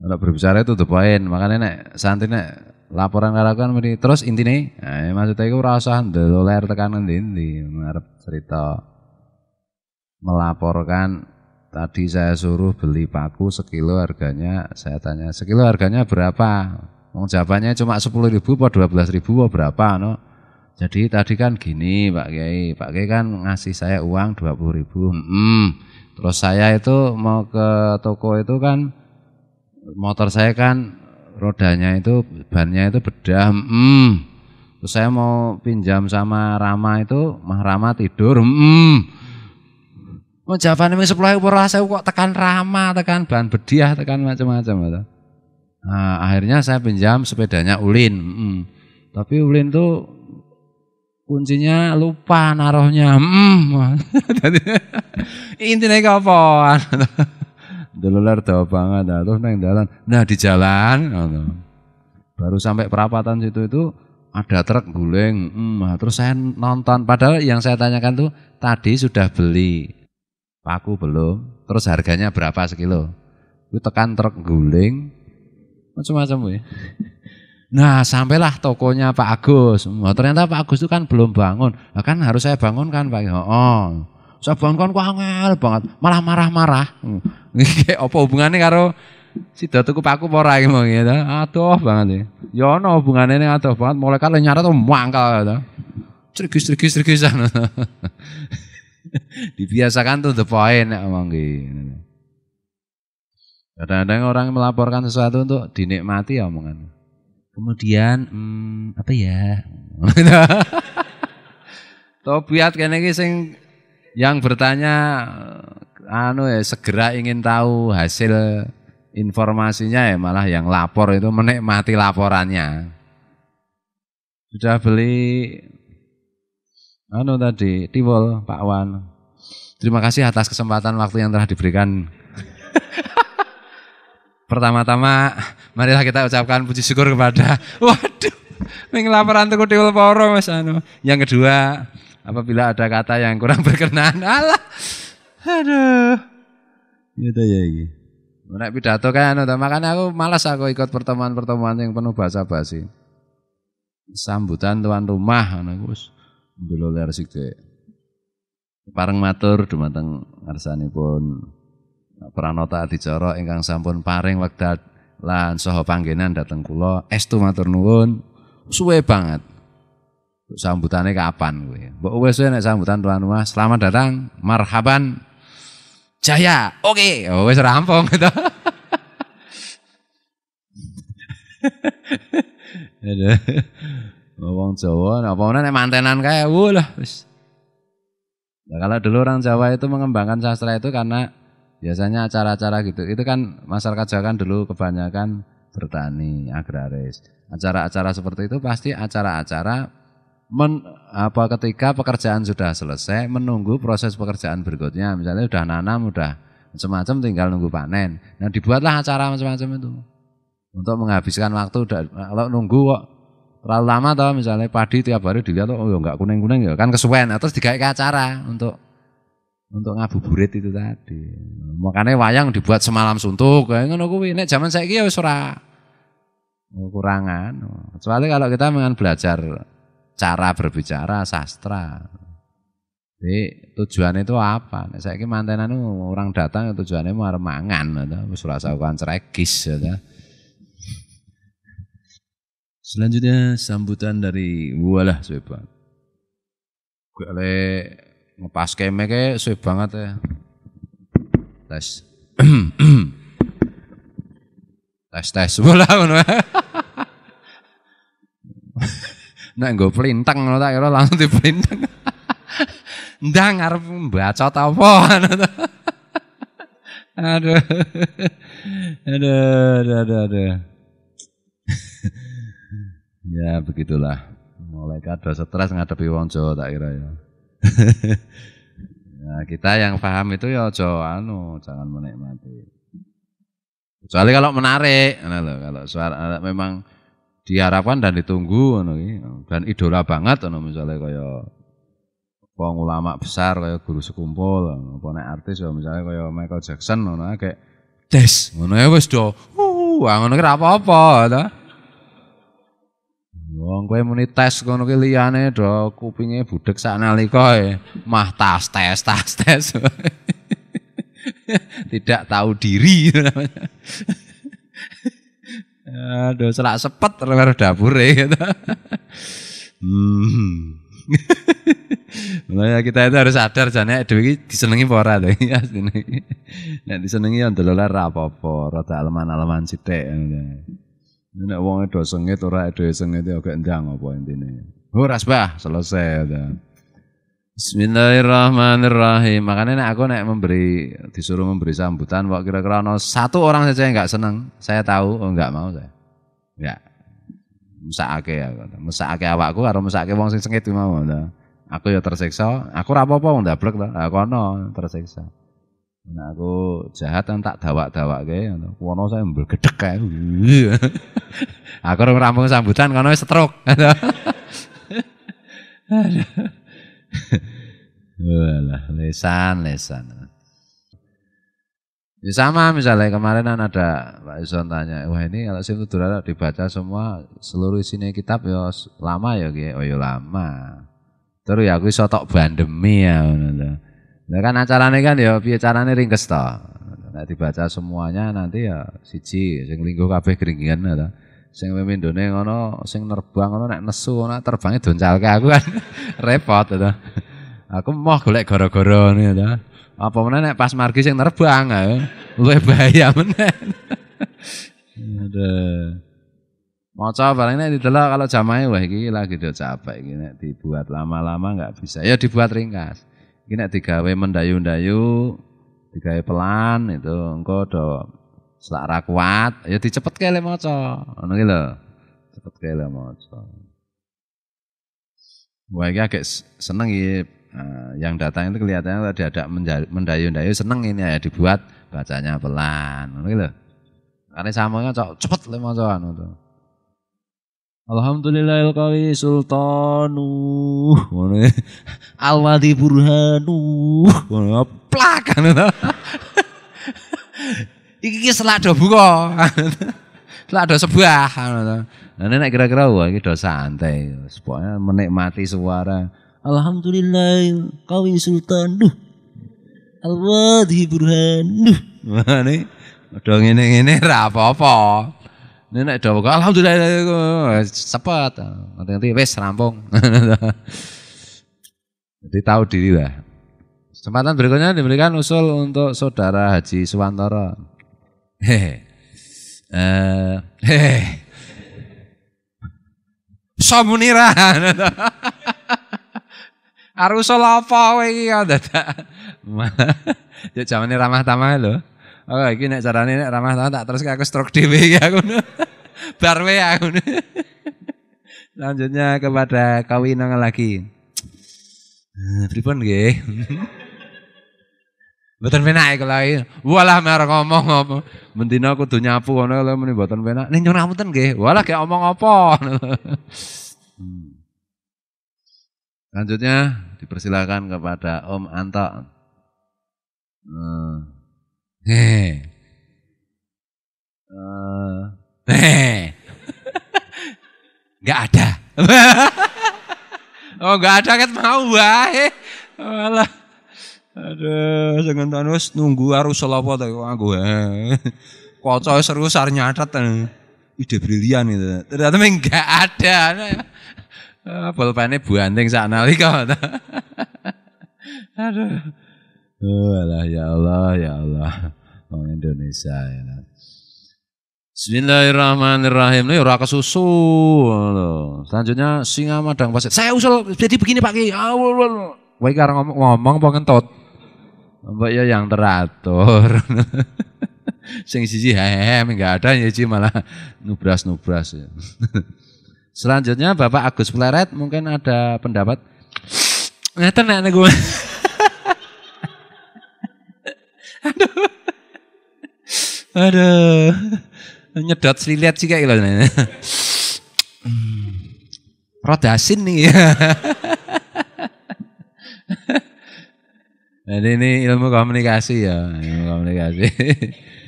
Kalau berbicara itu the point, makanya nek santri nek laporan karo kan mesti terus intine, maksudnya iku ora usah ndeloler tekan endi-endi, ngarep cerita melaporkan tadi saya suruh beli paku sekilo harganya, saya tanya sekilo harganya berapa? Wong jawabannya cuma 10.000 atau 12.000 atau berapa no? Jadi tadi kan gini Pak Kiai kan ngasih saya uang 20.000. Terus saya itu mau ke toko itu kan motor saya kan rodanya itu bannya itu bedah. Terus saya mau pinjam sama Rama itu, Mah Rama tidur. Mau jawabannya ming 10.000 ora saya kok tekan Rama, tekan ban bediah, tekan macam-macam gitu. Nah, akhirnya saya pinjam sepedanya Ulin. Tapi Ulin tuh kuncinya lupa naruhnya. Intinya ke apa? Dululer dawa banget, terus neng jalan. Nah di jalan, baru sampai perapatan situ itu ada truk guling. Terus saya nonton. Padahal yang saya tanyakan tuh tadi sudah beli paku belum? Terus harganya berapa sekilo? Itu tekan truk guling, macam-macam ya. Nah sampailah tokonya Pak Agus. Ternyata Pak Agus itu kan belum bangun. Nah, kan harus saya bangunkan Pak. Saya bangunkan kok angel banget, malah marah-marah. Apa hubungannya karo sida tuku paku ora iki mau gitu. Aduh banget ya. Ya ono hubungane ning adoh banget mulai kali nyaret mangkal gitu. Trigis-trigisan. Dibiasakan tuh the point nek omong gitu. Kadang-kadang orang melaporkan sesuatu untuk dinikmati ya omongan. Kemudian apa ya? Tobiat kene iki sing yang bertanya segera ingin tahu hasil informasinya ya malah yang lapor itu menikmati laporannya. Sudah beli tadi tiwul Pak Wan. Terima kasih atas kesempatan waktu yang telah diberikan. Pertama-tama marilah kita ucapkan puji syukur kepada waduh ning laporan tuku tiwul poro Mas Yang kedua, apabila ada kata yang kurang berkenan, aduh, gitu ya ini. Nek pidato kan, makanya aku malas aku ikut pertemuan-pertemuan yang penuh basa-basi. Sambutan tuan rumah, aku ndeloler sithik. Pareng matur dumateng ngarsanipun Pranata Adicara ingkang sampun paring wekdal lan saha panggenan dhateng kula. Estu matur nuwun, suwe banget. Sambutannya kapan gue? Mbok wis nek sambutan tuan rumah, selamat datang, marhaban, jaya, oke, wis rampung gitu. Wong Jawa, apa nek mantenan kae, lah wis. Nah, kalau dulu orang Jawa itu mengembangkan sastra itu karena biasanya acara-acara gitu. Itu kan masyarakat Jawa kan dulu kebanyakan bertani, agraris. Acara-acara seperti itu pasti acara-acara ketika pekerjaan sudah selesai menunggu proses pekerjaan berikutnya, misalnya sudah nanam, udah macam-macam tinggal nunggu panen. Nah dibuatlah acara macam-macam itu untuk menghabiskan waktu. Kalau nunggu kok terlalu lama toh, misalnya padi tiap hari dilihat enggak kuning-kuning ya kan kesuwen, terus digawe acara untuk ngabuburit itu tadi. Makanya wayang dibuat semalam suntuk kayak ngono kuwi. Nek zaman saiki ya wis ora kurangan. Kecuali kalau kita dengan belajar cara berbicara sastra. Jadi tujuannya itu apa? Nek saiki mantenan orang datang tujuannya mau arep mangan atau wis ora usah ceregis ya. Selanjutnya sambutan dari walah suwe banget. Gue ngepas keme kayak suwe banget ya. Tes. Tes bola ngono. Nek nggo plintang ngono tak kira langsung diplintang. Ndang arep bacot apa ngono. Aduh. Ya begitulah. Mulai kada stres ngadepi wong Jawa tak kira ya. Nah, kita yang paham itu ya jangan menikmati. Kecuali kalau menarik, kalau suara memang diharapkan dan ditunggu dan idola banget misalnya kaya wong ulama besar kaya guru sekumpul, apa nek artis ya misalnya kaya Michael Jackson kayak des ngono ya wis do ngono ki ora apa-apa to. Wong kowe muni tes ngono ki liyane do kupinge budhek sak nalika mah tas. Tidak tahu diri namanya. Aduh, selak sepet karo dapure gitu. Makanya kita itu harus sadar jane dhewe iki disenengi apa ora to asline. Nek disenengi ya ndelok ora apa-apa, rada aleman-aleman sithik. Nek wong do sengit ora dhewe sengit ya gak ndang apa intine. Ora bah, selesai ta. Bismillahirrahmanirrahim. Makanya aku disuruh memberi sambutan, kok kira-kira ada satu orang saja yang enggak senang. Saya tahu, enggak mau saya. Enggak. Mesakake awakku karo mesakake wong sing sengit mau. Aku ya tersiksa, aku ora apa-apa wong ndablek to. Aku ono tersiksa. Nah aku jahat kan tak dawak-dawakke ngono. Kono saya mblegedhek kae. Aku rampung sambutan kono wis stroke. Walah, lesan. Ya sama misalnya kemarin ada Pak Ison tanya, wah ini kalau Simtudurara dibaca semua seluruh isinya kitab ya lama ya gitu, oh ya lama. Terus ya aku iso tok bandemi ya. Nah kan acaranya kan ya piye carane ringkes to. Nek dibaca semuanya nanti ya siji sing linggo kabeh gringgingan to. Sing pemindone ngono, sing nerbang ngono nek nesu ngono terbange doncalke aku kan repot to. Aku mau golek gara-gara ngene to. Apa meneh nek pas margi sing nerbang luwih bahaya meneh. Aduh. Maca barang nek didelok kalau jamahe wah iki lagi do capek iki nek dibuat lama-lama enggak bisa. Ya dibuat ringkas. Iki nek digawe mendayu-ndayu, digawe pelan itu engko do selak ra kuat, ya dicepetke le maca. Ngono ki lho. Cepetke le maca. Wah iki agak seneng iki. Yang datang itu kelihatannya tadi ada mendayu-ndayu seneng ini ya dibuat bacanya pelan. Ngono ki lho. Karena samanya cepet le maca anu to. Alhamdulillahil qawi sultanu. Ngono. Alwadi burhanu. Ngono plak anu to. Iki selak do buka. Selak do sebuah ngono to. Nah nek kira-kira wah iki do santai. Pokoknya menikmati suara Alhamdulillah qawi sultan. Alwadi burhan. Mane do ngene-ngene ra apa-apa. Nek do alhamdulillah cepet. Nanti wis rampung. Jadi tahu diri lah. Kesempatan berikutnya diberikan usul untuk Saudara Haji Suwantoro. Somunira. Arusul apa kowe iki ya dadak. Ya jamane ramah tamah lho. Oh iki nek carane nek ramah tamah tak terus aku stroke dhewe iki aku. Bar wae aku. Lanjutnya kepada kawinang lagi. Pripun nggih? Mboten penak iku lagi. Walah merek ngomong apa. Mendina kudu nyapu ngono lho muni mboten penak. Ning nyuwun ngapunten nggih. Walah gek omong apa. Lanjutnya dipersilakan kepada Om Anto. Enggak ada. Oh enggak ada kan mau wae. Walah. Aduh, sing ngentono wis nunggu arusul apa to aku. Kaca seru sar nyatet. Ide brilian itu. Ternyata enggak ada. Pulpene buanting sak nalika. Aduh. Walah ya Allah. Wong Indonesia ya. Bismillahirrahmanirrahim. Ini ora kesusu. Selanjutnya Singa Madang Pasir. Saya usul jadi begini Pak Ki. Wah iki arep ngomong apa ngentut? Mbak ya yang teratur. Sing siji enggak ada siji malah nubras-nubras ya. Selanjutnya Bapak Agus Pleret mungkin ada pendapat. Ngeten nek gue. Aduh. Nyedot siliat sih kayak gitu. Rodasin nih. Jadi ini ilmu komunikasi ya, ilmu komunikasi.